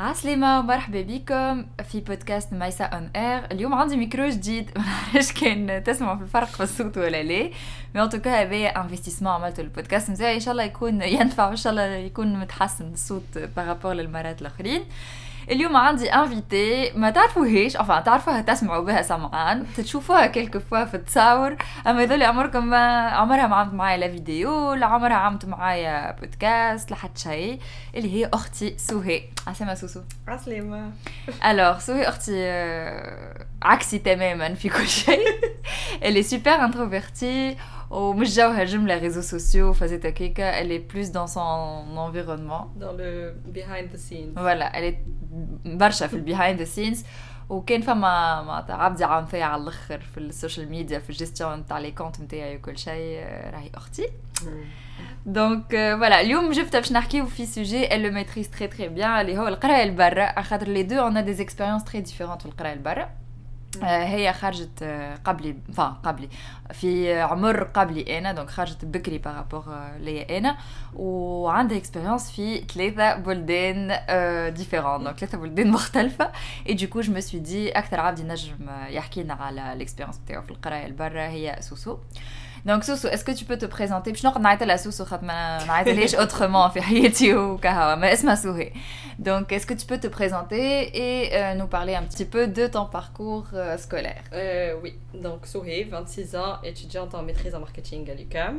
عسلامة مرحبا بكم في بودكاست مايسا اون اير. اليوم عندي ميكرو جديد معرفش كان تسمعوا في الفرق في الصوت ولا لا، مي ان توكا هذا انفستيسمون عملته البودكاست نتاعي، ان شاء الله يكون ينفع وان شاء الله يكون متحسن الصوت بارابور للمرات الاخرين. اليوم عندي انفيتي ما تعرفوهاش، تعرفوها تسمعوا بها سمعان، تشوفوها كلكو فوا في التصاور، اما هذول عمركم ما عمرها ما عملت معايا لا فيديو لا عمرها عملت معايا بودكاست لا حتى شيء، اللي هي اختي سهى. عسلامة سوسو. عسلامة. الوغ سهى اختي عكسي تماما في كل شيء. اللي سوبر انتروفيرتي ومش جوها جملة ريزو سوسيو فازت هكاكا، elle est plus dans son environnement, dans le behind the scenes. voilà, elle est برشا في البيهايند ذا سينز. وكان فما معناتها عبدي عام فيا على الاخر في السوشيال ميديا في الجيستيون تاع لي كونت نتاعي وكل شيء، راهي اختي. دونك فوالا اليوم جبتها باش نحكيو في سوجي elle le maîtrise très très bien اللي هو القرايه لبرا، خاطر لي دو on a des expériences très différentes في القرايه لبرا. هي خرجت قبلي في عمر قبلي انا، دونك خرجت بكري بارابور ليا انا، وعندها اكسبيرينس في 3 بلدان ديفيرون، دونك 3 بلدان مختلفه. اي دوكو جو مي سوي دي اكثر عبد نجم يحكي لنا على الاكسبيرينس نتاعو في القرايه لبرا هي سوسو. Donc Soso, est-ce que tu peux te présenter? باش نقعد نعيط لها سوسو خاطر ما نعيطلهاش autrement في حياتي وكهوا، ما اسمها سهى. Donc est-ce que tu peux te présenter et nous parler un petit peu de ton parcours scolaire? Oui, donc Sohé, 26 ans, étudiante en maîtrise en marketing à l'UQAM.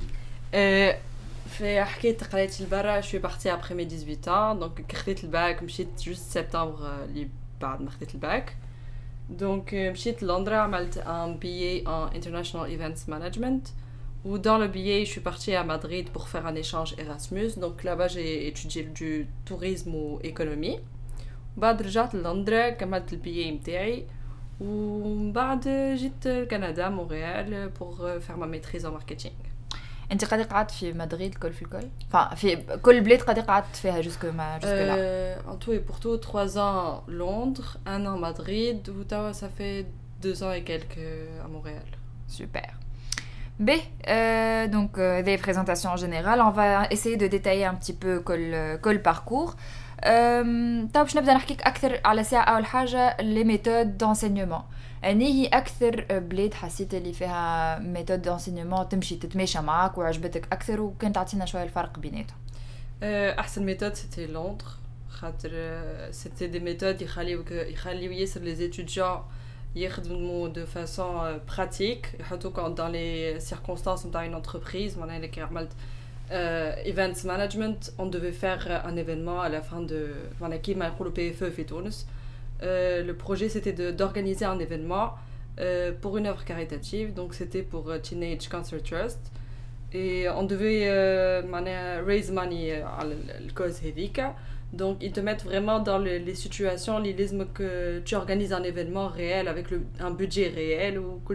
في حكاية قرايتي لبرا، je suis partie après mes 18 ans, donc خديت الباك مشيت juste septembre اللي بعد ما خديت الباك. Donc مشيت لندن عملت un billet en international events management, ou dans le billet je suis partie à Madrid pour faire un échange Erasmus. Donc là-bas j'ai étudié du tourisme ou économie. بعد رجعت لندن كملت البيي متاعي، ومن بعد جيت كندا مونريال pour faire ma maîtrise en marketing. انت قاعده قعدت في مدريد الكل في الكل؟ في كل بلاد قاعده قعدت فيها jusque là. En tout et pour tout 3 ans Londres, 1 an Madrid, ou ça fait 2 ans et quelques à Montréal. Super. B, donc des présentations en général, on va essayer de détailler un petit peu كل parcours. طيب باش نبدا نحكيك اكثر على ساعه. اول حاجه لي ميثود دانسينيومون، اني هي اكثر بلاد حسيت اللي فيها ميثود دانسينيومون تمشي تتماشى معاك وعجبتك اكثر، وكنت تعطينا شويه الفرق بيناتهم. احسن ميثود سيتي لندن، خاطر سيتي دي ميثود يخليو ياسر لي étudiants يخدموا de façon pratique، يحطوك dans les circonstances نتاع une entreprise. معناها اللي عملت events management, on devait faire un événement à la fin de كيما يقولوا PFE في تونس. Le projet c'était d'organiser un événement pour une œuvre caritative, donc c'était pour Teenage Cancer Trust, et on devait raise money على الكوز هذيك. Donc ils te mettent vraiment dans les situations اللي لازمك tu organises un événement réel avec un budget réel وكل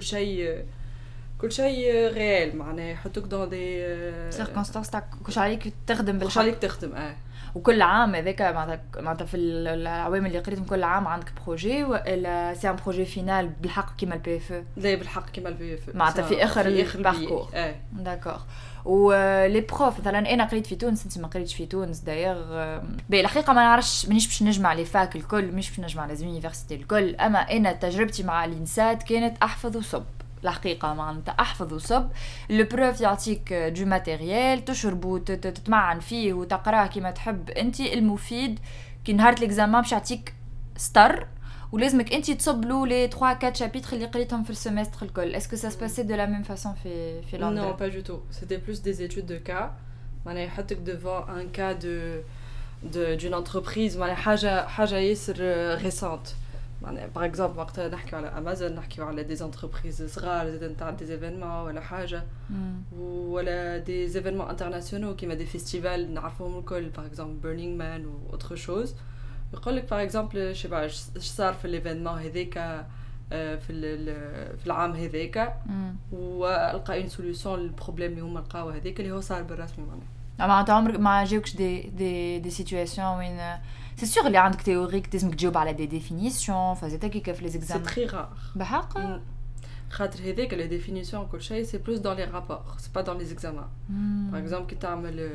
شيء ريال، معناها يحطوك dans des circonstances تاع كل عليك تخدم بالحق، عليك تخدم. وكل عام هذاك معناتها في العوام اللي قريتهم كل عام عندك بروجي، ولا سي ان بروجي فينال بالحق كيما البي اف؟ لا بالحق كيما البي اف، معناتها في اخر الباركور. داكور. ولي بروف مثلا انا قريت في تونس، انت ما قريتش في تونس داير. بالحقيقه ما نعرفش، مانيش باش نجمع لي فاك الكل، مش باش نجمع لي يونيفرسيتي الكل، اما انا تجربتي مع الانسات كانت احفظ وصب. الحقيقه معناتها احفظ وصب. لو بروف يعطيك دو ماتيريال تشربو تتمعن فيه وتقراه كيما تحب انت. المفيد كي نهار ليكزامان باش يعطيك ستار، ولازمك انت تصب له لي 3 4 شابيتر اللي قريتهم في السيمستر الكل. اسكو سا سباسي دو لا ميم فاصون في لندن؟ Non, pas du tout. C'était plus des études de cas. معناها يحطك devant un cas d'une entreprise، معناها حاجه ياسر récente. par exemple وقتها نحكيو على امازون، نحكيو على دي انتربريز صغار زاد نتاع دي ايفينمون ولا حاجه، ولا دي ايفينمون انترناسيونال كيما دي فيستيفال نعرفوهم الكل، par exemple Burning Man ou autre chose. يقول لك par exemple شي بعرف اش صار في الايفينمون هذاك في العام هذاك، والقى اون سوليوشن للبروبليم اللي هما لقاو هذاك اللي هو صار بالرسمي. معناها عمرك ما جاوكش دي سيتوياسيون وين سي سور اللي عندك تيوريك لازمك تجاوب على دي ديفينيسيون، فزيتا كي في لي زيكزام؟ سي تري رار بحق. خاطر هذاك la définition كل شيء c'est plus dans les rapports c'est pas dans les examens par exemple كي تعمل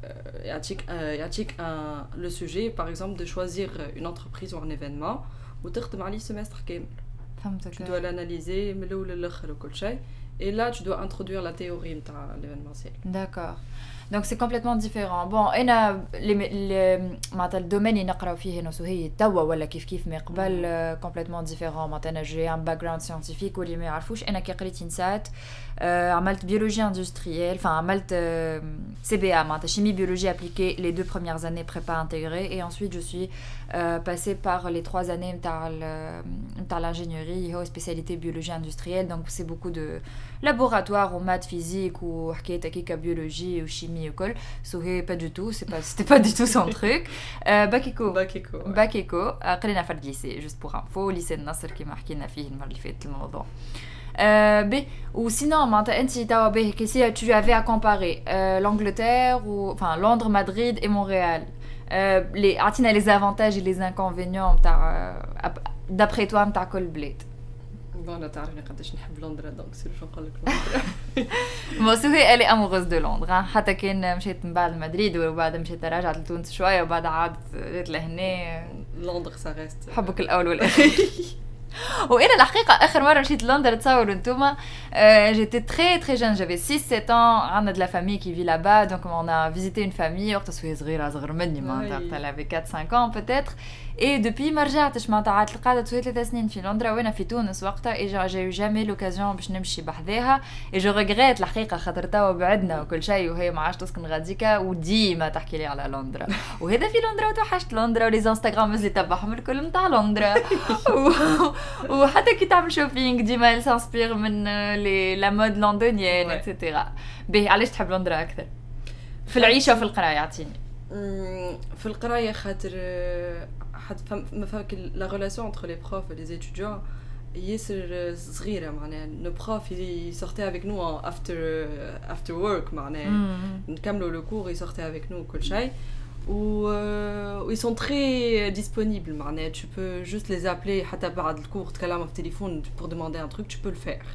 يعطيك le sujet par exemple de choisir une entreprise ou un événement وتخدم عليه semestre كامل فهمتك tu dois l'analyser من الاول للاخر وكل شيء et là tu dois introduire la théorie نتاع l'événementiel. D'accord. Donc c'est complètement différent. Bon, انا معناتها الدومين اللي نقراو فيه هنا هي توا ولا كيف ما قبل complètement différent. معناتها جي ان باك جراوند ساينتيفيك واللي ما يعرفوش انا كي قريت انسات عملت بيولوجي اندستريال enfin عملت CBA معناتها chimie biologie appliquée les 2 premières années prépa intégrée et ensuite je suis passée par les 3 années نتاع l'ingénierie هو spécialité biologie industrielle donc c'est beaucoup de laboratoire ou maths physique ou حكايه هكاك biologie ou chimie ou كل سو pas du tout c'était pas du tout son truc باك ايكو قرينا في الليسي juste pour info lycée النصر كما حكينا فيه المره اللي فاتت الموضوع ou sinon معناتها انت توا به كيسي tu avais à comparer l'Angleterre ou enfin Londres Madrid et Montréal les عطينا les avantages et les inconvénients نتاع d'après toi نتاع كل بلاد. انا تعرفني قداش نحب لندن دونك سير شنو نقول لك لندن بون سوي الي اموغوز دو لندن حتى كان مشيت من بعد مدريد وبعد مشيت رجعت لتونس شويه وبعد عادت جيت لهنا لندن سارست حبك الاول والاخير. وانا الحقيقه اخر مره مشيت لندن تصوروا نتوما j'étais très jeune j'avais 6-7 ans عندنا de la famille qui vit là-bas donc on a visité une famille وقت سوي صغيره اصغر مني معناتها elle avait 4-5 ans peut-être et depuis ما رجعتش معناتها عاد قعدت 3 سنين في لندن وانا في تونس وقتها et j'ai eu jamais l'occasion باش نمشي بحذاها et je regrette الحقيقه خاطر توا بعدنا وكل شيء وهي ما عادش تسكن غاديكا وديما تحكي لي على لندن وهذا في لندن وتوحشت لندن ولي انستغرامز اللي تبعهم الكل نتاع لندن وحتى كي تعمل شوبينغ ديما سانسبير من لا مود لندنيين اكسيتيرا. باهي علاش تحب لندن اكثر في العيشه وفي القرايه؟ عطيني. في القرايه خاطر حتى ما فهمك لا ريلاسيون انتر لي بروف et les étudiants ياسر صغيره معناها لو بروف يسورتي افيك نو افتر ورك معناها نكملوا لو كور يسورتي افيك نو كل شيء ils sont très disponibles معناها tu peux juste les appeler حتى بعد الكور تكلموا في التليفون pour demander un truc tu peux le faire.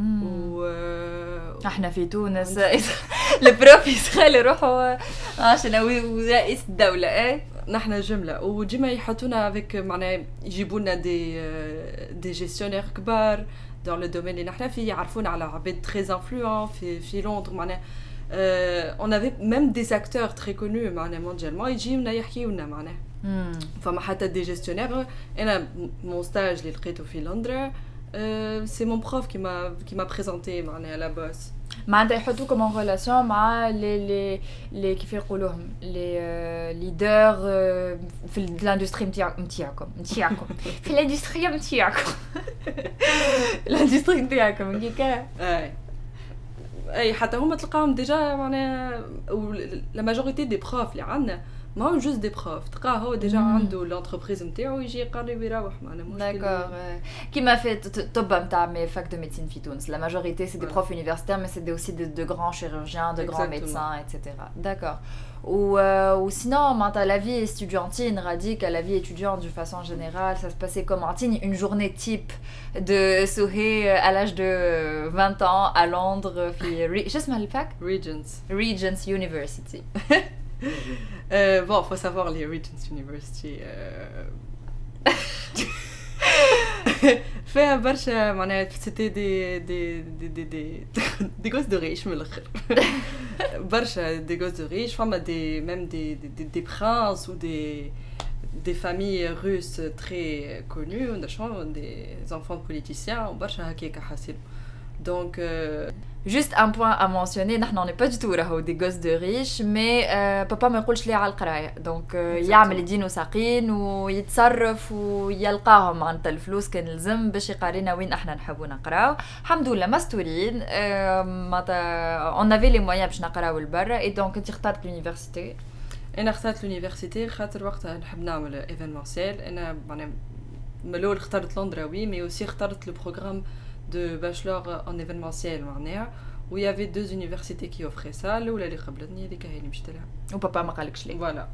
احنا في تونس البروف يسخل يروحوا عشان رئيس الدوله ايه نحن جمله وديما يحطونا افيك معناها يجيبوا لنا دي جيستيونير كبار dans le domaine اللي نحن فيه يعرفونا على عباد très influents في لندن معناها on avait même des acteurs très connus معناها mondialement يجيونا يحكيونا معناها فما حتى دي جيستيونير. انا mon stage اللي لقيته في لندن c'est mon prof qui m'a présenté معناها la boss معناتها يحطوكم en relation مع les كيف يقولوهم les leaders في الاندستري نتاعكم في الاندستري نتاعكم الاندستري نتاعكم هكاك اي حتى هما تلقاهم ديجا معناها la majorité des profs اللي عندنا ما هو جوست دي بروف تلقاه هو ديجا عنده لونتربريز نتاعو يجي يقرب يروح معنا مشكل. داكور كيما في طب نتاع مي فاك دو ميديسين في تونس لا ماجوريتي سي دي بروف يونيفرسيتير مي سي دي اوسي دو غران شيروجيان دو غران ميدسان ايتترا. داكور ou sinon معناتها la vie étudiantine radique à la vie étudiante d'une façon générale ça se passait comme une journée type de Souhé à l'âge de 20 ans à Londres في شو اسمها الفاك Regents University. Bon, faut savoir les Regents University فيها برشا معناها c'était des gosses de riches من الآخر برشا des gosses de riches فما même des princes ou des familles russes très connues des enfants de politiciens برشا هكاك حاسين donc juste un point à mentionner نحن on n'est pas du tout راهو des gosses de riches mais بابا ما يقولش لي على القرايه donc يعمل يدينو ساقين ويتصرف ويلقاهم معناتها الفلوس كان لازم باش يقارينا وين احنا نحبو نقراو. الحمد لله مستورين معناتها on avait les moyens باش نقراو لبرا et donc انت اخترت l'université. انا اخترت l'université خاطر وقتها نحب نعمل ايفينمونسيال. انا معناها ملول اخترت لندن وي مي اوسي اخترت لو بروغرام de bachelor en événementiel معناها où il y avait 2 universités qui offraient ça الاولى اللي قبلتني هذيك هي اللي مشيت لها وبابا ما قالكش ليه فوالا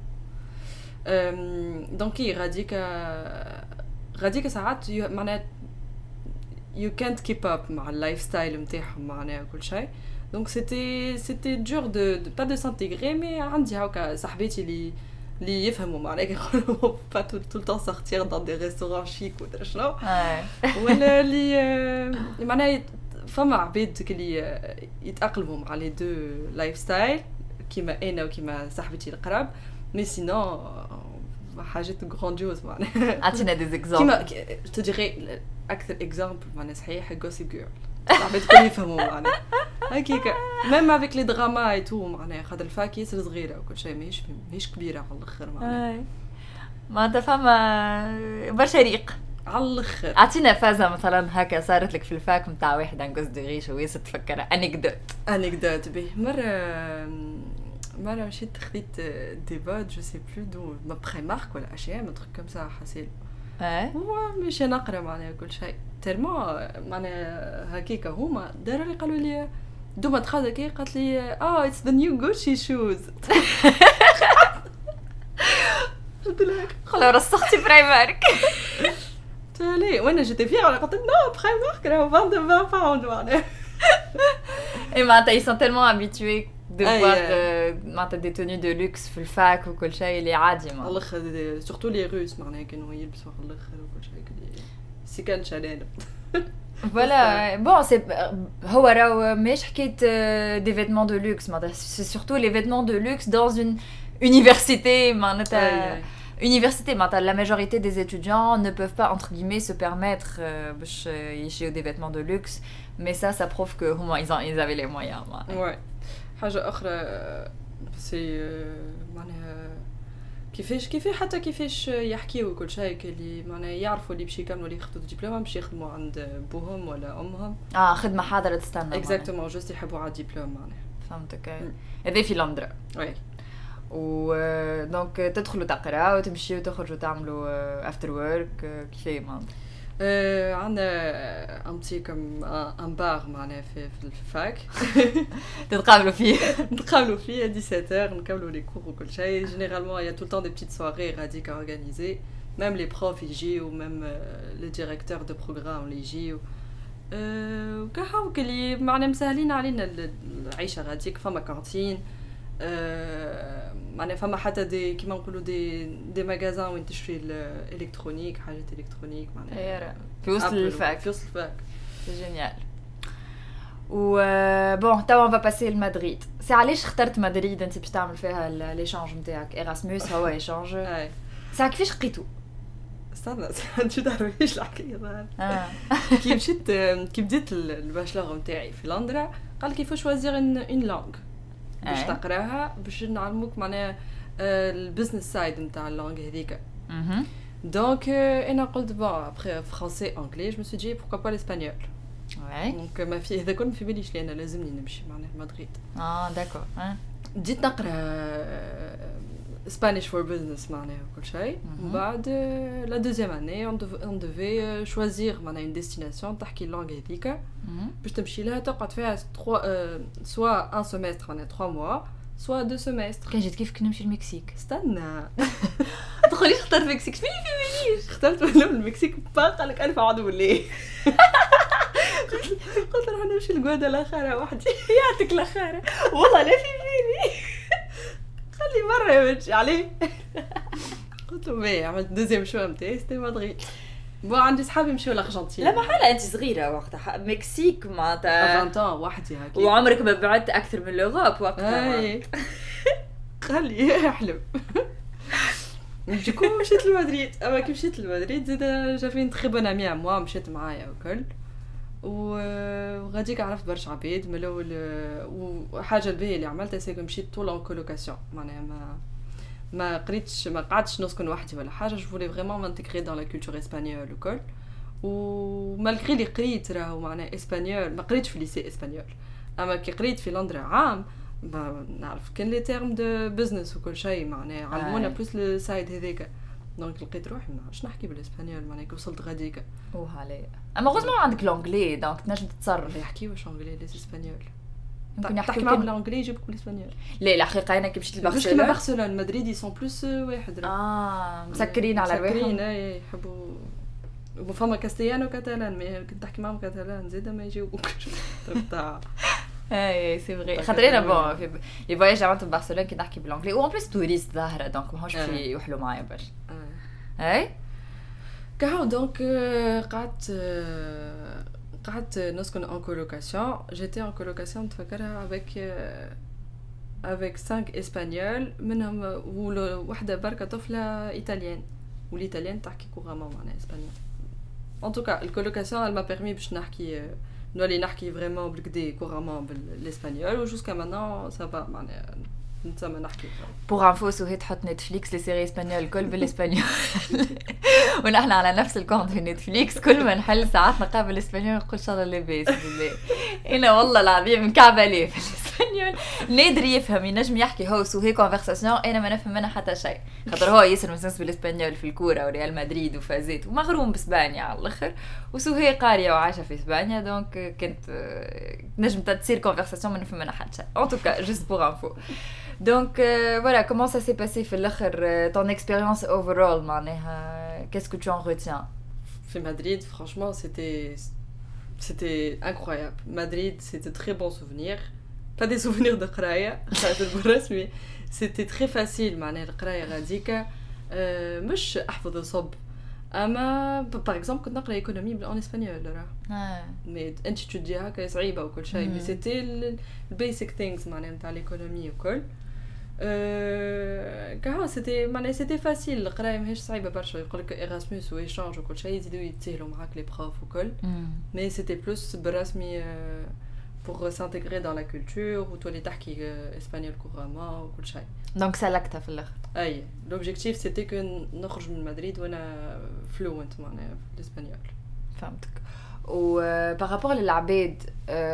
دونك غاديك ساعات معناها you can't keep up مع اللايف ستايل نتاعهم معناها كل شيء. Donc c'était dur de pas de s'intégrer, mais عندي هكا صاحباتي اللي يفهموا معناها pas tout le temps sortir dans des restaurants chics ولا شنو. ولا اللي معناها فما عباد اللي يتأقلموا مع لي دو لايف ستايل كيما انا وكيما صاحبتي القراب. مي سينو حاجات غرانديوز معناها. اعطينا دي زيكزامبل. كيما تديري اكثر اكزامبل معناها صحيح غوسيب جيرل. صاحبات الكل يفهموا معناها هكاكا ميم افيك لي دراما اي تو معناها خاطر الفاك ياسر صغيره وكل شيء ماهيش كبيره على الاخر معناها. ما فما برشا ريق على الاخر. اعطينا فازه مثلا هكا صارت لك في الفاك نتاع واحد عن قصد غيش وياسر تفكرها انكدوت به. مرة مشيت خديت ديبات جو سي بلو دو ما بري مارك ولا اشياء ما تروك كم ساعه حاسيل هو مش نقرا معناها كل شيء ترمو معناها هكاكا هما داروا لي قالوا لي دوما تخاذ كي قالت لي اتس ذا نيو غوتشي شوز. قلت لها خلا رسختي برايمارك. تالي وانا جيت فيها ولا قلت نو برايمارك راهو 20 باوند معناها. اي معناتها ils sont tellement habitués de voir معناتها des tenues de luxe في الفاك وكل شيء اللي عادي معناتها. الاخر سورتو لي روس معناها كانوا يلبسوا على الاخر وكل شيء سي كان شلال. Voilà, bon, هو راهو مش حكاية des vêtements de luxe, c'est surtout les vêtements de luxe dans une université, معناتها université, معناتها la majorité des étudiants ne peuvent pas entre guillemets se permettre باش يشيو des vêtements de luxe, mais ça prouve que هما ils avaient les moyens. Ouais. حاجة أخرى سي معناها كيفاش يحكيوا وكل شيء اللي معناها يعرفوا اللي باش يكملوا اللي ياخذوا دبلوم باش يخدموا عند بوهم ولا امهم. خدمه حاضره تستنى اكزاكتومون جوست يحبوا على الدبلوم معناها. فهمتك. هذا في لندن. وي. و دونك تدخلوا تقراوا وتمشيوا وتخرجوا تعملوا افتر ورك كيف معناتها. عندنا امتي كم ان بار معناها في الفاك. تتقابلوا فيه 17h نكملوا لي كور وكل شيء. جينيرالمون il y a tout le temps des petites soirées غاديك organisées, même les profs يجيو, même les directeurs de programme اللي يجيو. وكهو اللي معناها مسهلين علينا العيشه غاديك. فما كانتين معناها فما حتى دي كيما نقولوا دي ماغازان وين تشري الالكترونيك حاجات الكترونيك معناها في وسط الفاك. سي جينيال. و بون توا on va passer لمدريد. سي علاش اخترت مدريد انت باش تعمل فيها ليشانج نتاعك؟ ايراسموس هو ايشانج. ساعه كيفاش لقيتو؟ استنى انت تعرفيش الحكايه هذا. كي بديت الباشلور نتاعي في لندن قال كيف شوازير ان لانغ باش تقراها باش نعلموك معناها البزنس سايد نتاع اللانغ هذيك. دونك انا قلت بون ابري فرونسي انجلي جو مي سو دي بوركو با الاسبانيول. دونك ما في هذا كل ما في باليش لي انا لازمني نمشي معناها مدريد. داكور. بديت نقرا Spanish for business معناها وكل شيء. بعد لا دوزيام اني on devait choisir معناها une destination تحكي اللغة هذيك باش تمشي لها تقعد فيها soit un semestre معناها 3 mois soit 2 semestres. كان جيت كيف نمشي المكسيك. استنى تقوليش اخترت المكسيك فيني اخترت المكسيك باقي لك 1000 عدو ليه. قلت راح نمشي لغوادالاخارا وحدي. يعطيك الاخارا والله لا فيني خلي مرة يمشي عليه. قلت له مي عملت دوزيام شو نتاعي ستي مدريد. بو عندي صحابي مشيو لارجنتين. لا محالة انت صغيرة وقتها. مكسيك معناتها 20 وحدي هكا وعمرك ما بعدت اكثر من لوروب وقتها. خلي يحلم. ديكو مشيت لمدريد. اما كي مشيت لمدريد زيد جافين تري بون امي موا مشيت معايا وكل وغاديك عرفت برشا عباد من الاول. وحاجه الباهيه اللي عملتها سي مشيت طول اون كولوكاسيون معناها ما قريتش ما قعدتش نسكن وحدي ولا حاجه. جو فولي فريمون مانتيغري دون لا كولتور اسبانيول وكل. ومالغري لي قريت راهو معناها اسبانيول ما قريتش في ليسي اسبانيول. اما كي قريت في لندن عام نعرف كان لي تيرم دو بزنس وكل شيء معناها علمونا بلوس السايد هذاك. دونك لقيت روحي ما نعرفش نحكي بالاسبانيول معناها كي وصلت غاديك. عليه اما غوزمون عندك لونجلي دونك تنجم تتصرف. يحكيوش انجلي لي اسبانيول. يمكن يحكي معاهم بالانجلي يجيبوك بالاسبانيول. لا الحقيقه انا كي مشيت لبرشلونه مدريد يسون بلوس واحد مسكرين على رواحهم. مسكرين يحبوا فما كاستيانو كاتالان مي كنت تحكي معهم كاتالان زيدا ما يجاوبوكش تاع اي سي فري خاطر انا بون في لي فواياج عملت ببرشلونه كي نحكي بالانجلي و ان بليس توريست ظاهره دونك ماهوش في يوحلوا معايا باش اي كهو دونك قعدت نسكن en colocation. J'étais en colocation متفكرها avec 5 espagnols منهم وحده بركه طفله ايطاليان والايطاليان تحكي كورامون معناها اسبانيول. En tout cas, la colocation elle m'a permis باش نحكي نولي نحكي فريمون بالكدا كورامون بالاسبانيول وجوسكا مانون سا با معناها نتسمى نحكي. بور انفو سهيت تحط نتفليكس لي سيري اسبانيول كل بالاسبانيول ونحن على نفس الكونت في نتفليكس كل ما نحل ساعات نقابل الاسبانيول نقول ان شاء الله لاباس بالله. انا والله العظيم مكعبه ليه في الاسبانيول نادر يفهم ينجم يحكي هو سوهي كونفرساسيون انا ما نفهم منها حتى شيء خاطر هو ياسر مسنس بالاسبانيول في الكوره وريال مدريد وفازات ومغروم باسبانيا على الاخر وسوهي قاريه وعايشه في اسبانيا دونك كنت نجم تصير كونفرساسيون ما نفهم منها حتى شيء. En tout cas juste pour info. Donc voilà, comment ça s'est passé في الاخر ton expérience overall معناها qu'est-ce que tu en retiens? في Madrid franchement c'était incroyable. Madrid c'était très bons souvenirs. Pas des souvenirs de قرايه خاطر بالرسمي c'était très facile معناها القرايه غاديكا مش احفظ صب اما par exemple كنت نقرا ايكونومي بالان اسبانيول راه مي انت تجي هكا صعيبه وكل شيء مي سيتي البيسك ثينجز معناها نتاع الايكونومي وكل كهو سيتي معناها سيتي فاسيل القرايه ماهيش صعيبه برشا يقول لك ايراسموس وايشانج وكل شيء يزيدوا يتسهلوا معاك لي بروف وكل مي سيتي بلوس بالرسمي pour s'intégrer dans la culture ou تولي تحكي اسبانيول كورامون وكل شيء. دونك سلكتها في الاخر. اي لوبجيكتيف سيتي كو نخرج من مدريد وانا فلوينت معناها في الاسبانيول. فهمتك. و بارابور للعباد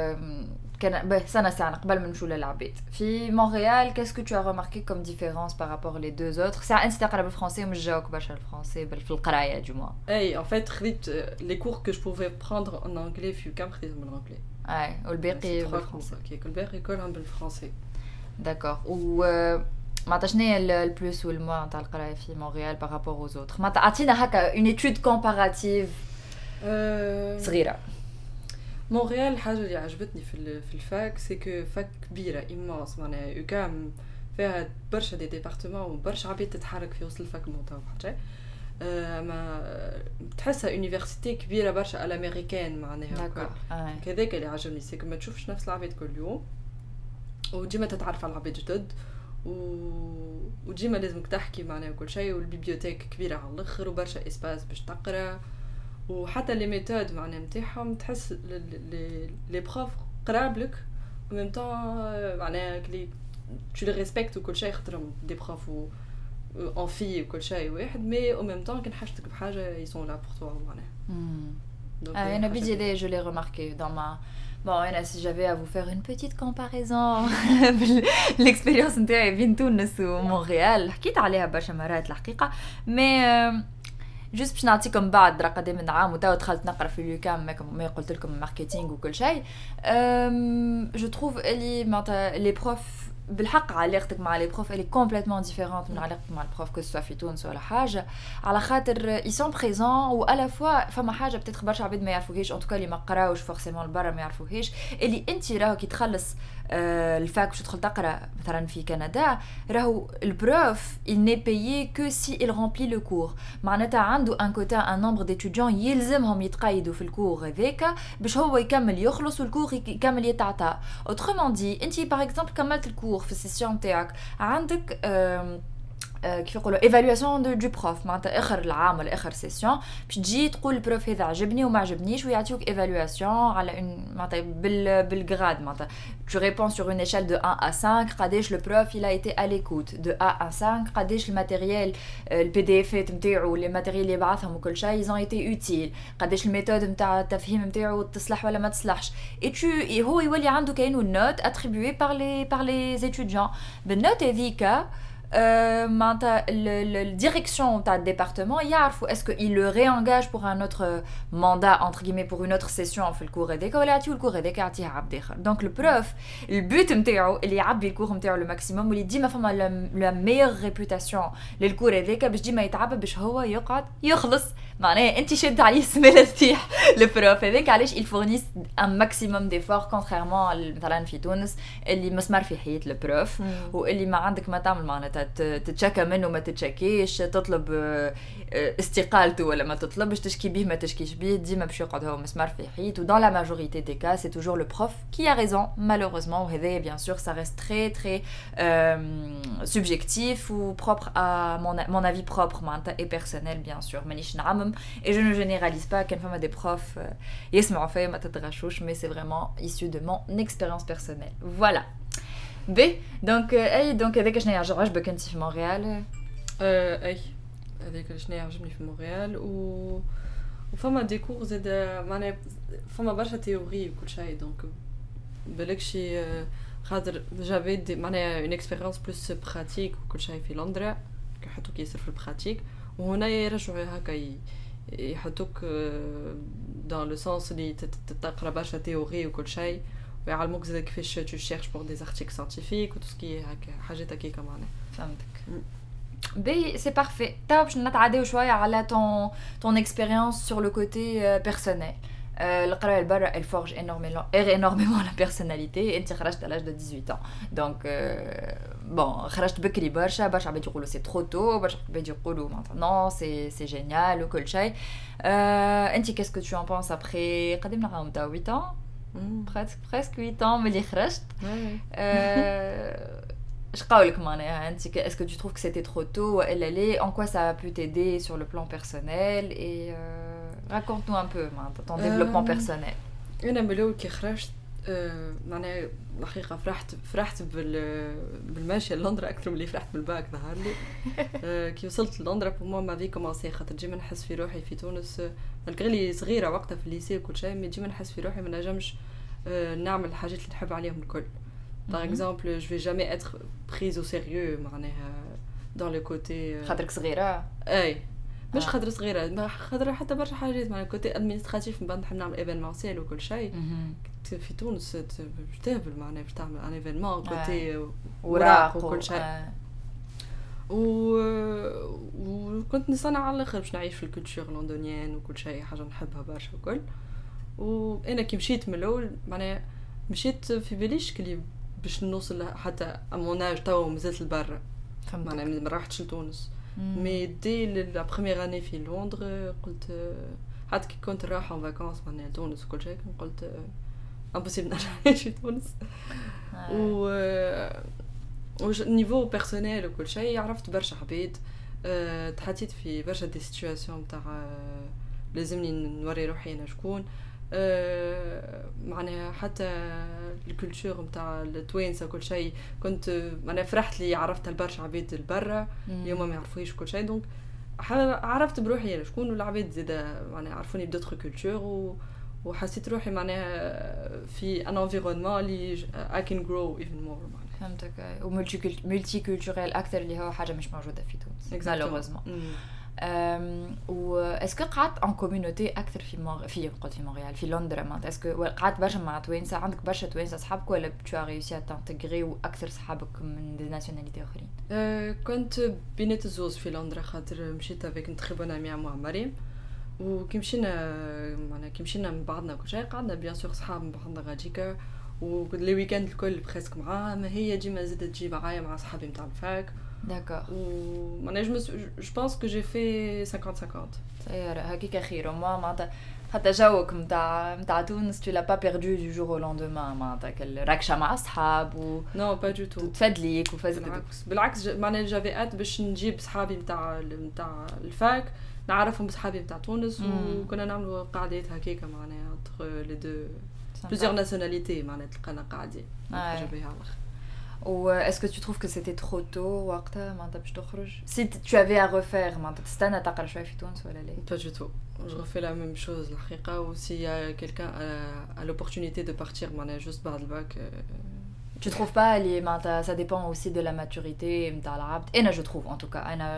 كان سنة قبل ما نمشوا للعباد في مونريال كاسكو تو ريماركي كوم ديفيرونس بارابور لي دو اوتر ساعه انت تقرا بالفرنسي ومش جاوك برشا الفرنسي في القرايه دو موا. اي ان فيت خديت لي كور كو جو بوفي بروندر ان انجلي في كام خديتهم بالانجلي. اي والباقي بالفرنسي. الباقي كلهم بالفرنسي. داكور. و معناتها شنو البلوس والموا نتاع القرايه في مونريال بارابور اوز اوتر معناتها عطينا هكا اون ايتود كومباراتيف صغيره. مونريال الحاجه اللي عجبتني في الفاك سي كو فاك كبيره ايمانس معناها يوكام فيها برشا دي ديبارتمون وبرشا عباد تتحرك في وسط الفاك نتاعو حتى ما تحسها يونيفرسيتي كبيره برشا الامريكان معناها كذاك اللي عجبني سي ما تشوفش نفس العباد كل يوم وديما تتعرف على العباد جدد وديما لازمك تحكي معناها كل شيء والبيبيوتيك كبيره على الاخر وبرشا اسباس باش تقرا وحتى لي ميثود معناها نتاعهم تحس لي بروف قرابلك وميم طون معناها كلي tu les respectes وكل شيء خاطرهم دي بروف en fille وكل شيء واحد مي او ميم طون كان حاجتك بحاجه ils sont là pour toi معناها. انا بيجي je l'ai remarqué dans ma bon انا si j'avais à vous faire une petite comparaison l'expérience نتاعي بين تونس ومونريال حكيت عليها برشا مرات الحقيقه مي جوست باش نعطيكم بعد قدام من عام وتوا دخلت نقرا في اليوكام ما قلت لكم ماركتينغ وكل شيء جو تروف اللي معناتها لي بروف بالحق علاقتك مع لي بروف اللي كومبليتمون ديفيرونت من علاقتك مع البروف كو سوا في تونس ولا حاجه على خاطر اي سون بريزون و الا فوا فما حاجه بتاتخ برشا عباد ما يعرفوهاش ان توكا اللي ما قراوش فورسيمون البرا ما يعرفوهاش اللي انت راهو كي تخلص الفاك باش تدخل تقرا مثلا في كندا راهو البروف il n'est payé que si il remplit le cours معناتها عنده ان كوتا ان نومبر ديتوديون يلزمهم يتقيدوا في الكور هذاك باش هو يكمل يخلص والكور يكمل يتعطى. autrement dit انت باغ اكزومبل كملت الكور في السيسيون تاعك عندك كيف يقولوا ايفالواسيون دو بروف معناتها اخر العام ولا اخر سيسيون باش تجي تقول البروف هذا عجبني وما عجبنيش ويعطيوك ايفالواسيون على معناتها بالغراد معناتها tu réponds sur une échelle de 1 à 5 قداش le prof il a été à l'écoute de 1 à 5 قداش الماتيريال البي دي اف نتاعو لي ماتيريال اللي بعثهم وكل شيء ils ont été utiles قداش الميثود نتاع التفهيم نتاعو تصلح ولا ما تصلحش هو يولي عنده كاينو نوت attribué par les étudiants بالنوت هذيك معناتها الديريكسيون تاع الديبارتمون يعرفوا اسكو il le réengage pour un autre mandat entre guillemets pour une autre session في الكور هذاك ولا يعطيو الكور هذاك يعطيه عبد اخر. دونك البروف البوت نتاعو اللي يعبي الكور نتاعو لو ماكسيموم واللي ديما فما لا ميور ريبوتاسيون للكور هذاك باش ديما يتعب باش هو يقعد يخلص معناها انت شد عليه السماله تطيح البروف هذاك علاش il fournissent un maximum d'efforts contrairement مثلا في تونس اللي مسمار في حيط البروف واللي ما عندك ما تعمل معناتها تتشكى منه ما تتشكيش تطلب استقالته ولا ما تطلبش تشكي به ما تشكيش به ديما باش يقعد هو مسمار في حيط dans la majorité des cas c'est toujours le prof qui a raison malheureusement وهذا bien sûr ça reste très très subjectif ou propre à mon avis propre et personnel bien sûr مانيش نعمم et je ne généralise pas كان فما des profs يسمعوا فيا ما تتغشوش mais c'est vraiment issu de mon expérience personnelle voilà B donc اي donc هذاك شنو يعجبك انت في مونريال اي هذاك شنو يعجبني في مونريال وفما دي كور زاد معناها فما برشا تيوري وكل شيء دونك بالك شي خاطر جافي معناها اون اكسبيريونس بلوس براتيك وكل شيء في لندن يحطوك ياسر في البراتيك وهنا يرجعوا هكا يحطوك دان لو سونس اللي تقرا برشا تيوري وكل شيء ويعلموك زاد كيفاش تو شيرش بور دي ارتيكل ساينتيفيك وتسكي هكا حاجات هكاكا معناها فهمتك B, c'est parfait. Tu peux نتعداو شويه على ton expérience sur le côté personnel. القرايه لبرا elle forge énormément la personnalité. انت خرجت à l'âge de 18 ans. Donc bon, خرجت بكري برشا عباد يقولوا c'est trop tôt, برشا عباد يقولوا maintenant c'est génial وكل شيء. انت qu'est-ce que tu en penses après قدمنا عام 8 ans presque 8 ans ملي خرجت. Je قولك معناها انت est-ce que tu trouves que c'était trop tôt ou elle allait en quoi ça a pu t'aider sur le plan personnel et raconte-nous un peu ton développement personnel. انا ملو كي خرجت معناها الحقيقه فرحت بالماشيه لندن اكثر من اللي فرحت بالباك ظهر لي كي وصلت لندن pour moi ma vie commençait خاطر ديما نحس في روحي في تونس مالغري صغيره وقتها في الليسي وكل شيء مي ديما نحس في روحي ما نجمش نعمل الحاجات اللي نحب عليهم الكل. Par exemple, je vais jamais être prise au sérieux معناها dans le côté خاطرك صغيرة. اي مش خاطر صغيرة ما خاطر حتى برشا حاجات معناها الكوتي ادمينستراتيف من بعد نحب نعمل ايفينمونسيال وكل شيء في تونس تهبل معناها باش تعمل ان ايفينمون كوتي وراق وكل شيء وكنت نصنع على الاخر باش نعيش في الكولتور لندنيان وكل شيء حاجة نحبها برشا وكل وانا كي مشيت من الاول معناها مشيت في باليش كلي باش نوصل حتى اموناج تو مازلت لبرا معناها ما رحتش لتونس مي دي لا بروميير اني في لندن قلت حتى كي كنت رايحه ان فاكونس معناها تونس وكل شيء قلت امبوسيبل نعيش في تونس و نيفو بيرسونيل وكل شيء عرفت برشا عباد تحطيت في برشا دي سيتوياسيون تاع لازمني نوري روحي انا شكون معناها حتى الكولتور نتاع التوانسه كل شيء كنت معناها فرحت لي عرفت البرشا عباد البرا اليوم ما يعرفوش كل شيء دونك عرفت بروحي انا شكون والعباد زاده معناها عرفوني بدوتر كولتور وحسيت روحي معناها في ان انفيرونمون اللي I can grow even more معناها فهمتك وملتي كولتورال اكثر اللي هو حاجه مش موجوده في تونس مالوغوزمون و اسكو قعدت ان كوميونيتي اكثر في قلت في مونريال في لندن معناتها اسكو قعدت برشا مع توانسه عندك برشا توانسه اصحابك ولا tu as réussi à t'intégrer واكثر صحابك من دي ناسيوناليتي اخرين كنت بينات الزوز في لندن خاطر مشيت افيك نتخيبنا مع مريم وكي مشينا معناها كي مشينا من بعضنا كل شيء قعدنا بيان سور صحاب من بعضنا غاديكا ولي ويكاند الكل بريسك معاها ما هي ديما زادت تجي معايا مع صحابي نتاع الفاك D'accord. Je pense que j'ai fait 50-50. هكيك خير معناتها حتى جوك نتاع تونس tu l'as pas perdu du jour au lendemain معناتها الركشه مع اصحاب و non pas du tout تفدليك وفازت بالعكس معناها جافي ات باش نجيب صحابي نتاع الفاك نعرفهم بصحابي نتاع تونس وكنا نعملوا قعدات هكاكا معناها entre les deux plusieurs nationalités معناها تلقانا قاعدين حاجه بها على الاخر. Ou est-ce que tu trouves que c'était trop tôt وقتها معناتها باش تخرج si tu avais à refaire معناتها تستنى تقرا شويه في تونس ولا لا pas du tout je refais la même chose الحقيقه و s'il y a quelqu'un a l'opportunité de partir معناها juste بعد الباك tu trouves pas les معناتها ça dépend aussi de la maturité نتاع العبد انا je trouve en tout cas انا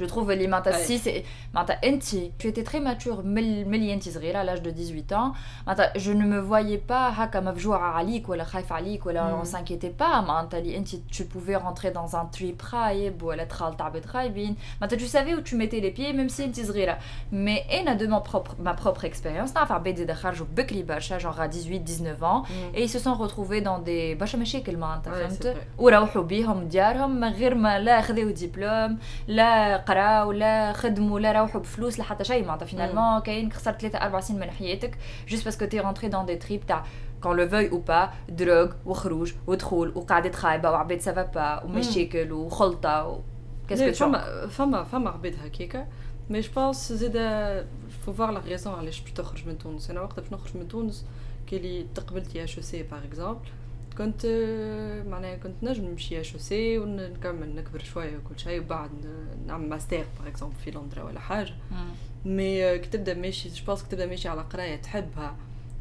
Je trouve اللي معناتها si c'est معناتها انت tu étais très mature ملي انت صغيره à l'âge de 18 ans معناتها je ne me voyais pas هكا مفجوعه عليك ولا خايفه عليك ولا on s'inquiétait pas معناتها اللي انت tu pouvais rentrer dans un trip خايب ولا تخال تعبت خايبين معناتها tu savais où tu mettais les pieds même si انت صغيره mais انا de ma propre expérience نعرف عباد اللي خرجوا بكري برشا genre à 18 19 ans et ils se sont retrouvés dans des برشا مشاكل معناتها فهمت وروحوا بيهم ديارهم من غير ما لا خذوا دبلوم لا قراو لا خدموا لا روحوا بفلوس لا حتى شيء معناتها فينالمون كاين خسرت 3-4 سنين من حياتك juste parce que tu es rentré dans des trips تاع qu'on le veuille ou pas drogue وخروج ودخول وقعدة خايبة وعباد ça va pas ومشاكل وخلطة qu'est-ce que tu فما عباد هكاكا mais je pense زيدا faut voir la raison علاش باش تخرج من تونس انا وقت باش نخرج من تونس كي تقبلت يا HEC par exemple كنت معناها كنت نجم نمشي HEC ونكمل نكبر شويه وكل شيء وبعد نعمل ماستر باغ اكزومبل في لندن ولا حاجه مي كي تبدا ماشي جو بونس كي تبدا ماشي على قرايه تحبها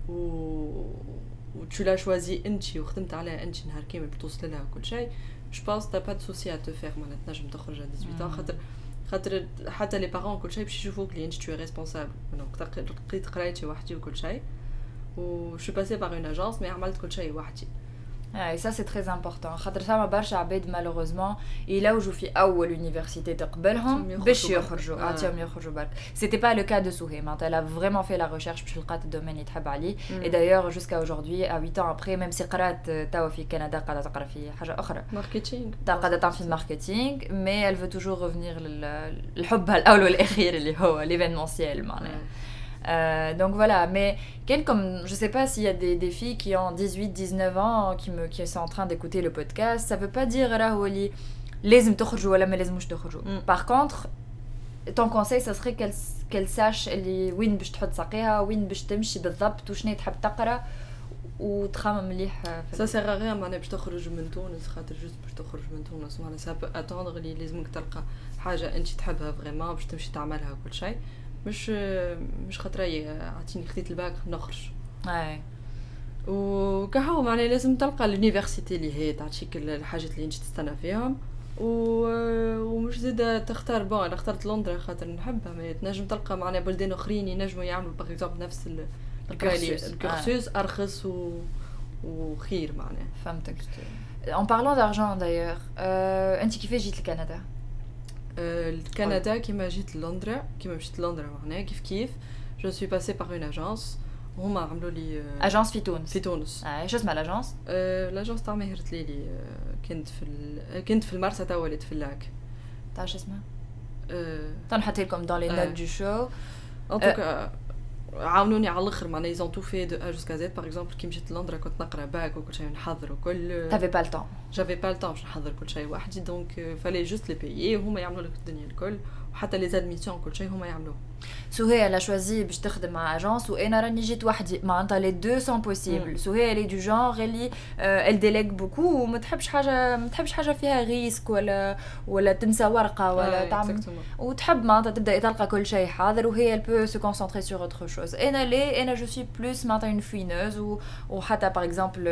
و tu l'as choisi انت وخدمت عليها انت نهار كامل باش توصل لها وكل شيء جو بونس تا با دو سوسي ا تو فير معناها تنجم تخرج على 18 خاطر حتى لي بارون كل شيء باش يشوفوك اللي انت tu es responsable دونك لقيت قرايتي وحدي وكل شيء و je suis passée par une agence mais عملت كل شيء وحدي. Et ça c'est très important. خاطر فما برشا عباد malheureusement يلوجوا في أول université تقبلهم باش يخرجوا عطيهم يخرجوا برك. C'était pas le cas de Souhé. Elle a vraiment fait la recherche باش لقات الدومين اللي تحب عليه. Et d'ailleurs jusqu'à aujourd'hui à 8 ans après même si قرات توا في كندا قاعدة تقرا في حاجة أخرى. Marketing. قاعدة تعمل في الماركتينغ mais elle veut toujours revenir للحب الأول والأخير اللي هو l'événementiel معناها. Donc voilà, mais comme je sais pas s'il y a des filles qui ont 18-19 ans qui sont en train d'écouter le podcast, ça veut pas dire راهو لازم تخرجوا ولا ما لازموش تخرجوا. Par contre, ton conseil ça serait qu'elle sache اللي وين باش تحط ساقيها وين باش تمشي بالضبط وشنو تحب تقرا وتخمم مليح. Ça sert à rien معناها باش تخرج من تونس خاطر جوست باش تخرج من تونس معناها ça peut attendre اللي لازمك تلقى حاجه انت تحبها فريمون باش تمشي تعملها وكل شيء. مش خاطري عطيني خديت الباك نخرج وكهو معناها لازم تلقى اليونيفرسيتي اللي هي تعطيك الحاجات اللي انت تستنى فيهم ومش زيدا تختار بون انا اخترت لندن خاطر نحبها ما تنجم تلقى معناها بلدان اخرين ينجموا يعملوا باغ اكزومبل نفس الكورسوس ارخص وخير معناها فهمتك. En parlant d'argent d'ailleurs انت كيفاش جيت لكندا؟ الكندا كيما جيت لندن كيما مشيت لندن معناها كيف je suis passée par une agence هما عملوا لي اجانس في تونس ايش اسمها الاجانس لاجونس تاع ماهر تليلي كنت في المرسى تاع وليت في اللاك تاع ايش اسمها تنحط لكم dans les notes du show en tout cas عاونوني على الاخر معناها ils ont tout fait de A jusqu'à Z par exemple كي مشيت لندن كنت نقرا باك وكل شيء نحضر وكل t'avais pas le temps j'avais pas le temps باش نحضر كل شيء وحدي دونك fallait juste les payer هما يعملوا لك الدنيا الكل وحتى لي زادميسيون كل شيء هما يعملوه. سهية elle a choisi باش تخدم مع اجانس وانا راني جيت وحدي معناتها لي دو سون بوسيبل. سهية اللي دو جونغ اللي elle délègue beaucoup وما تحبش حاجه فيها ريسك ولا تنسى ورقه ولا تعمل وتحب معناتها تبدا تلقى كل شيء حاضر وهي elle peut se concentrer sur autre chose. انا je suis plus معناتها une fouineuse وحتى par exemple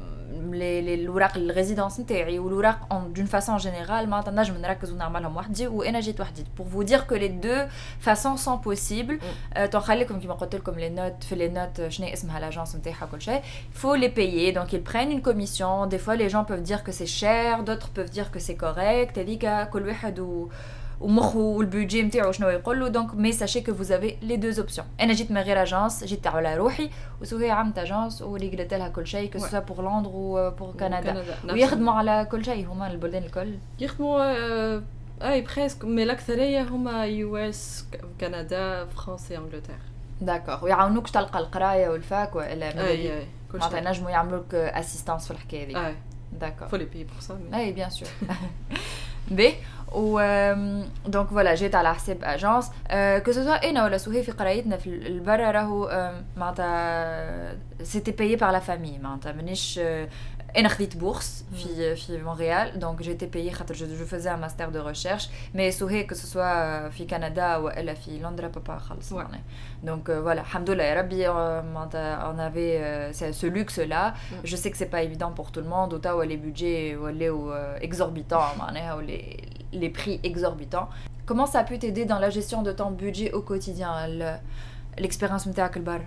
الوراق الريزيدانس نتاعي والوراق d'une façon générale معناتها نجم نركز ونعملهم وحدي وانا جيت وحدي pour vous dire que les deux façons sont possibles. تنخليكم كيما قلت لكم les notes في les notes شنو اسمها لاجونس نتاعها كل شيء faut les payer donc ils prennent une commission. Des fois les gens peuvent dire que c'est cher d'autres peuvent dire que c'est correct هذيك كل واحد ومخو والبودجي نتاعو شنو يقول له دونك مي ساشي كو vous avez les deux options. انا جيت من غير اجانس جيت على روحي وسهية عملت اجانس وريقلت لها كل شيء كو سوا بور لندن وبور كندا ويخدموا على كل شيء هما البلدان الكل يخدموا اي بريسك مي الاكثريه هما يو اس كندا فرنسا انجلترا داكور ويعاونوك تلقى القرايه والفاك ولا معناتها نجموا يعملوا لك اسيستانس في الحكايه دي. داكور faut les payer pour ça mais اي bien sûr بي donc voilà جيت على حساب اجانس que ce soit انا ولا سهية في قرايتنا في البرا راهو معناتها c'était payé par la famille معناتها مانيش انا خديت بورس في مونريال دونك جيت payé خاطر جو فازي ان ماستر دو ريشيرش مي سهية que ce soit في كندا ولا في لندن بابا خلص معناها donc voilà الحمد لله يا ربي معناتها on avait ce luxe là. Je sais que c'est pas évident pour tout le monde وتوا les budgets ولاو exorbitants معناها les prix exorbitants. Comment ça a pu t'aider dans la gestion de ton budget au quotidien, l'expérience نتاعك البر؟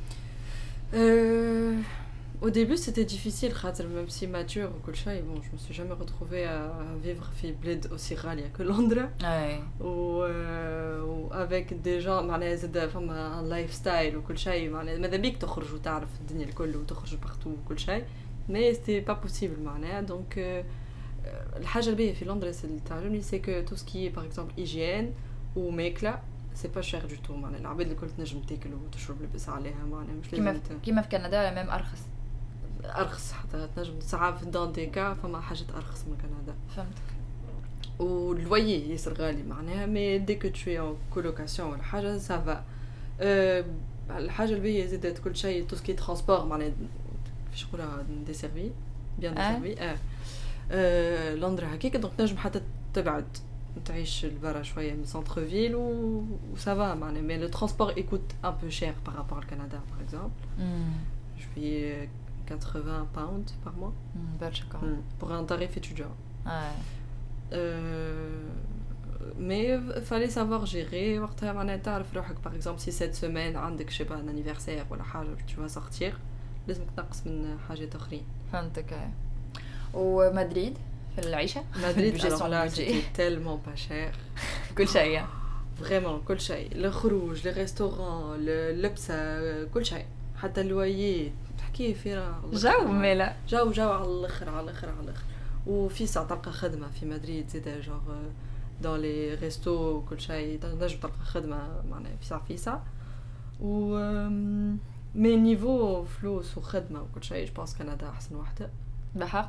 Au début c'était difficile, même si mature ou كل شيء, bon, je me suis jamais retrouvée à vivre في بلاد aussi غالية que Londres. Ouais. و avec des gens معناها زاد فما لايف ستايل وكل شيء, معناها ماذا بيك تخرج وتعرف الدنيا الكل وتخرج بارتو وكل شيء, mais c'était pas possible معناها. donc الحاجة الباهية في لندن اللي تعجبني c'est que tout ce qui est par exemple hygiène ou ماكلة c'est pas cher du tout, معناها العباد الكل تنجم تاكل وتشرب لبس عليها, معناها مش لازم كيما في كندا ولا ميم ارخص حتى تنجم ساعات في دون دي كا فما حاجات ارخص من كندا. فهمتك. واللوyer ياسر غالي معناها, مي دي كو تو ان كولوكاسيون ولا حاجه سافا. الحاجه الباهيه زادت كل شيء تو سكي ترونسبور, معناها كيفاش نقولها ديسيرفي بيان ديسيرفي. لندن هكاك, دونك تنجم حتى تبعد تعيش لبرا شويه من سنتر فيل و سافا, معناها مي لو ترونسبور ايكوت ان بو شير بار رابور au Canada par exemple. Je paye 80 pounds par mois. Pour un tarif étudiant. Ouais. Mais il fallait savoir gérer. وقتها معناها تعرف روحك par exemple si cette semaine عندك je sais pas un anniversaire ولا حاجة tu vas sortir, لازمك تنقص من حاجات أخرين. فهمتك. ومدريد في العيشة؟ مدريد alors là c'était tellement pas cher. كل شيء. Vraiment كل شيء. الخروج, les restaurants, اللبسة, كل شيء. حتى اللوية تحكي فيها جو ميلا جو على الاخر على الاخر على الاخر. وفي ساعه تلقى خدمه في مدريد زيد جور دون لي ريستو كل شيء تنجم تلقى خدمه معناها في ساعه و مي نيفو فلوس وخدمه وكل شيء جو بونس كندا احسن وحده بحق.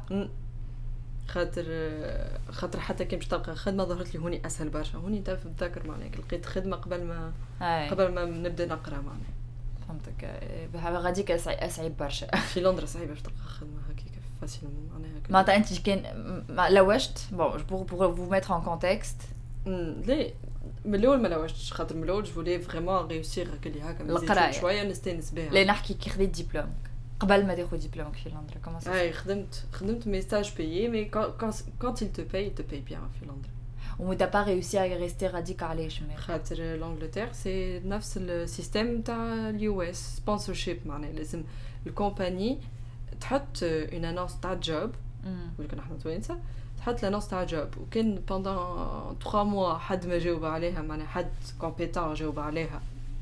خاطر حتى كي باش تلقى خدمه ظهرت لي هوني اسهل برشا. هوني نتذكر معناها لقيت خدمه قبل ما نبدا نقرا معناها. فهمتك. غاديك أصعب برشا. في لندن صعيبة باش تلقى خدمة هكاك فاسيل معناها. معناتها أنت كان لوجت bon pour vous mettre en contexte. لا من الأول ما لوجتش, خاطر من الأول جو فولي فريمون ريوسير كلي هكا القراية شوية نستانس بها. لا نحكي كي خديت دبلوم قبل ما تاخذ دبلومك في لندن كومون سا. اي خدمت مي ستاج بايي, مي quand il te paye bien في لندن. و t'as pas réussi à rester radical علاش؟ خاطر لانجلتير سي نفس السيستم تاع اليو اس سبونسورشيب, معناها لازم الكومباني تحط اون انونس تاع جوب, ولا كنا احنا توانسه تحط الانونس تاع جوب, وكان بوندون 3 موا حد ما جاوب عليها, معناها حد كومبيتون جاوب عليها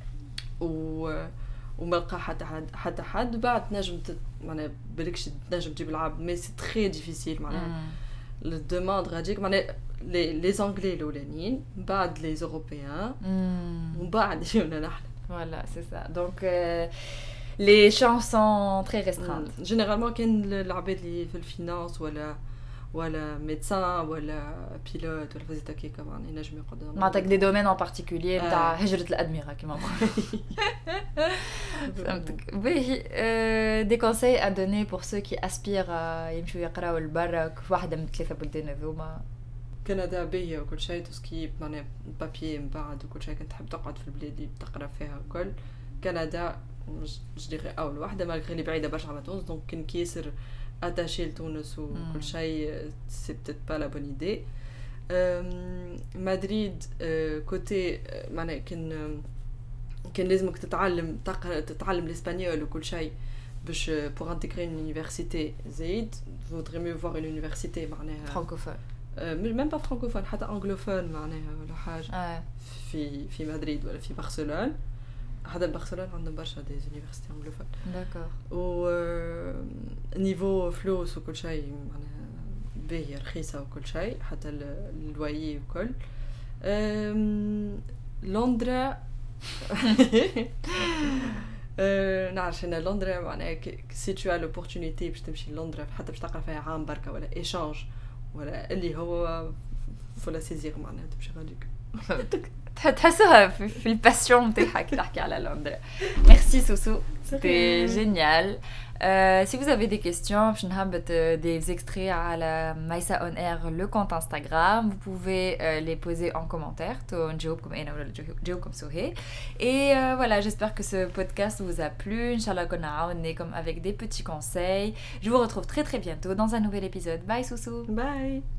وما لقى حتى حد بعد تنجم معناها بالكش تنجم تجيب العبد, مي سي تري ديفيسيل معناها الدوموند غاديك معناها les anglais الاولانيين بعد les européens ومن بعد جينا نحن. Voilà, c'est ça. Donc les chances sont très restreintes. Généralement كان العباد اللي في الفينانس ولا médecin ولا pilote ولا فازت هكاكا معناها ينجم يقعد. معناتك دي دومين ان بارتيكولير تاع هجرة الأدمغة كيما نقولوا. فهمتك. باهي دي conseils à donner pour ceux qui aspirent يمشوا يقراوا لبرا في واحدة من 3 بلدان هذوما. كندا باهية وكل شيء, تسكي معناها بابيي من بعد وكل شيء, كنت تحب تقعد في البلاد اللي تقرا فيها وكل. كندا جديري اول واحده مالغري اللي بعيده برشا على تونس, دونك كان كيسر اتاشي لتونس وكل شيء سي بتيت با لا بون ايدي. مدريد كوتي معناها كان لازمك تتعلم الاسبانيول وكل شيء باش pour intégrer une université زايد vaudrait mieux voir une université معناها francophone, même pas francophone حتى anglophone معناها ولا حاجه. في مدريد ولا في برشلونة, حتى برشلونة عندهم برشا دي يونيفرسيتي انجلوفون. داكور. و نيفو فلوس وكل شيء معناها باهية رخيصة وكل شيء, حتى اللويي وكل. لندن نعرف ان لندن معناها سي تو ا لوبورتونيتي باش تمشي لندن حتى باش تقرا فيها عام بركه ولا ايشانج ولا اللي هو فولا سيزير معناها تمشي غاديك. تحسها في الباسيون نتاعك تحكي على لندن. ميرسي سوسو, c'était génial. Si vous avez des questions, je n'habite des extraits à la Maïsa On Air, le compte Instagram. Vous pouvez les poser en commentaire. Et voilà, j'espère que ce podcast vous a plu. Inch'Allah, on est comme avec des petits conseils. Je vous retrouve très très bientôt dans un nouvel épisode. Bye Soussou. Bye.